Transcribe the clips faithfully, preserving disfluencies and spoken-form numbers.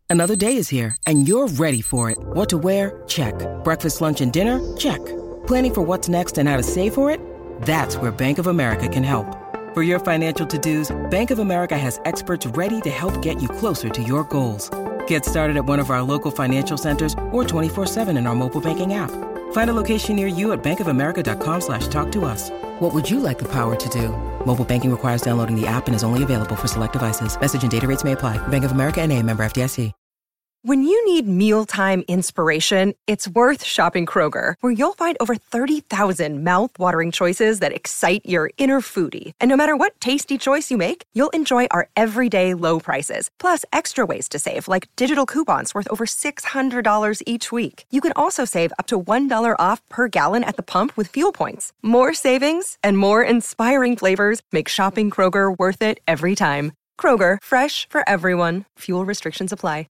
Another day is here, and you're ready for it. What to wear? Check. Breakfast, lunch, and dinner? Check. Planning for what's next and how to save for it? That's where Bank of America can help. For your financial to-dos, Bank of America has experts ready to help get you closer to your goals. Get started at one of our local financial centers or twenty-four seven in our mobile banking app. Find a location near you at bankofamerica.com slash talk to us. What would you like the power to do? Mobile banking requires downloading the app and is only available for select devices. Message and data rates may apply. Bank of America N A, member F D I C. When you need mealtime inspiration, it's worth shopping Kroger, where you'll find over thirty thousand mouth-watering choices that excite your inner foodie. And no matter what tasty choice you make, you'll enjoy our everyday low prices, plus extra ways to save, like digital coupons worth over six hundred dollars each week. You can also save up to one dollar off per gallon at the pump with fuel points. More savings and more inspiring flavors make shopping Kroger worth it every time. Kroger, fresh for everyone. Fuel restrictions apply.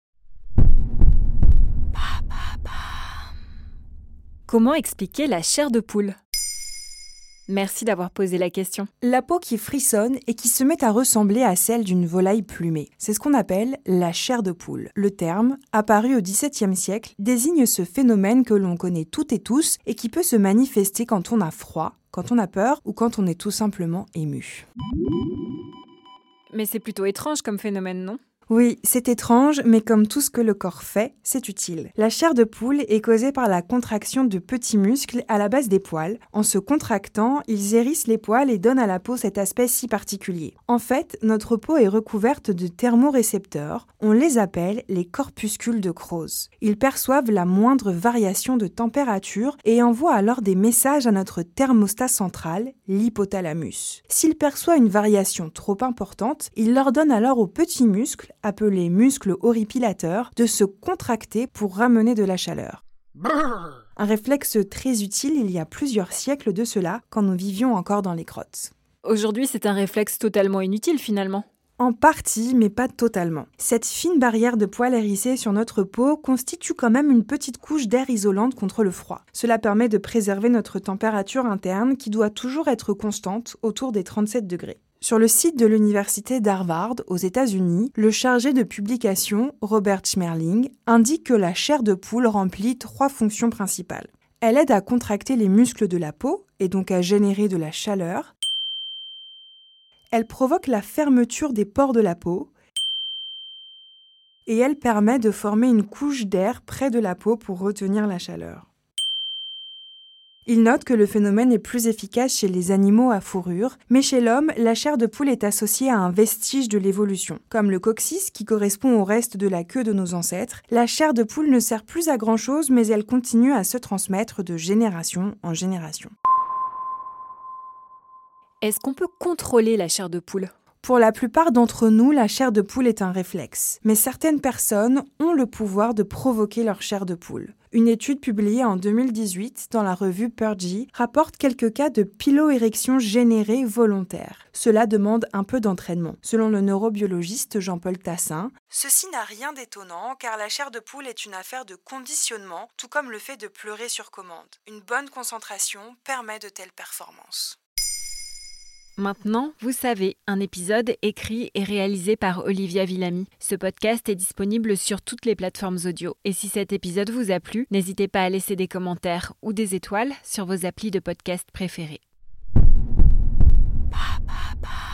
Comment expliquer la chair de poule ? Merci d'avoir posé la question. La peau qui frissonne et qui se met à ressembler à celle d'une volaille plumée. C'est ce qu'on appelle la chair de poule. Le terme, apparu au dix-septième siècle, désigne ce phénomène que l'on connaît toutes et tous et qui peut se manifester quand on a froid, quand on a peur ou quand on est tout simplement ému. Mais c'est plutôt étrange comme phénomène, non ? Oui, c'est étrange, mais comme tout ce que le corps fait, c'est utile. La chair de poule est causée par la contraction de petits muscles à la base des poils. En se contractant, ils hérissent les poils et donnent à la peau cet aspect si particulier. En fait, notre peau est recouverte de thermorécepteurs. On les appelle les corpuscules de Krause. Ils perçoivent la moindre variation de température et envoient alors des messages à notre thermostat central, l'hypothalamus. S'il perçoit une variation trop importante, il leur donne alors aux petits muscles, appelés muscles horripilateurs, de se contracter pour ramener de la chaleur. Brrr. Un réflexe très utile il y a plusieurs siècles de cela, quand nous vivions encore dans les grottes. Aujourd'hui, c'est un réflexe totalement inutile finalement. En partie, mais pas totalement. Cette fine barrière de poils hérissés sur notre peau constitue quand même une petite couche d'air isolante contre le froid. Cela permet de préserver notre température interne qui doit toujours être constante, autour des trente-sept degrés. Sur le site de l'université d'Harvard, aux États-Unis, le chargé de publication, Robert Schmerling, indique que la chair de poule remplit trois fonctions principales. Elle aide à contracter les muscles de la peau, et donc à générer de la chaleur. Elle provoque la fermeture des pores de la peau. Et elle permet de former une couche d'air près de la peau pour retenir la chaleur. Il note que le phénomène est plus efficace chez les animaux à fourrure, mais chez l'homme, la chair de poule est associée à un vestige de l'évolution. Comme le coccyx, qui correspond au reste de la queue de nos ancêtres, la chair de poule ne sert plus à grand-chose, mais elle continue à se transmettre de génération en génération. Est-ce qu'on peut contrôler la chair de poule ? Pour la plupart d'entre nous, la chair de poule est un réflexe. Mais certaines personnes ont le pouvoir de provoquer leur chair de poule. Une étude publiée en deux mille dix-huit dans la revue Purgy rapporte quelques cas de piloérection générée volontaire. Cela demande un peu d'entraînement. Selon le neurobiologiste Jean-Paul Tassin, ceci n'a rien d'étonnant car la chair de poule est une affaire de conditionnement, tout comme le fait de pleurer sur commande. Une bonne concentration permet de telles performances. Maintenant, vous savez, un épisode écrit et réalisé par Olivia Villamy. Ce podcast est disponible sur toutes les plateformes audio. Et si cet épisode vous a plu, n'hésitez pas à laisser des commentaires ou des étoiles sur vos applis de podcast préférés. Pa, pa, pa.